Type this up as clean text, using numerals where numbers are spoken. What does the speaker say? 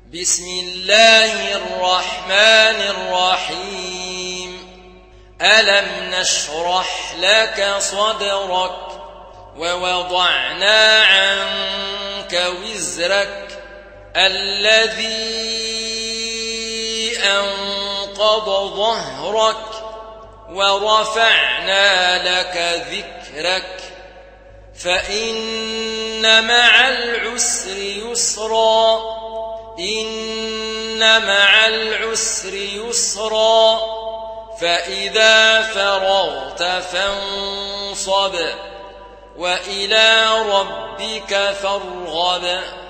بسم الله الرحمن الرحيم ألم نشرح لك صدرك ووضعنا عنك وزرك الذي أنقض ظهرك ورفعنا لك ذكرك فإن مع العسر يسرا إن مع العسر يسرا فإذا فرغت فانصب وإلى ربك فارغب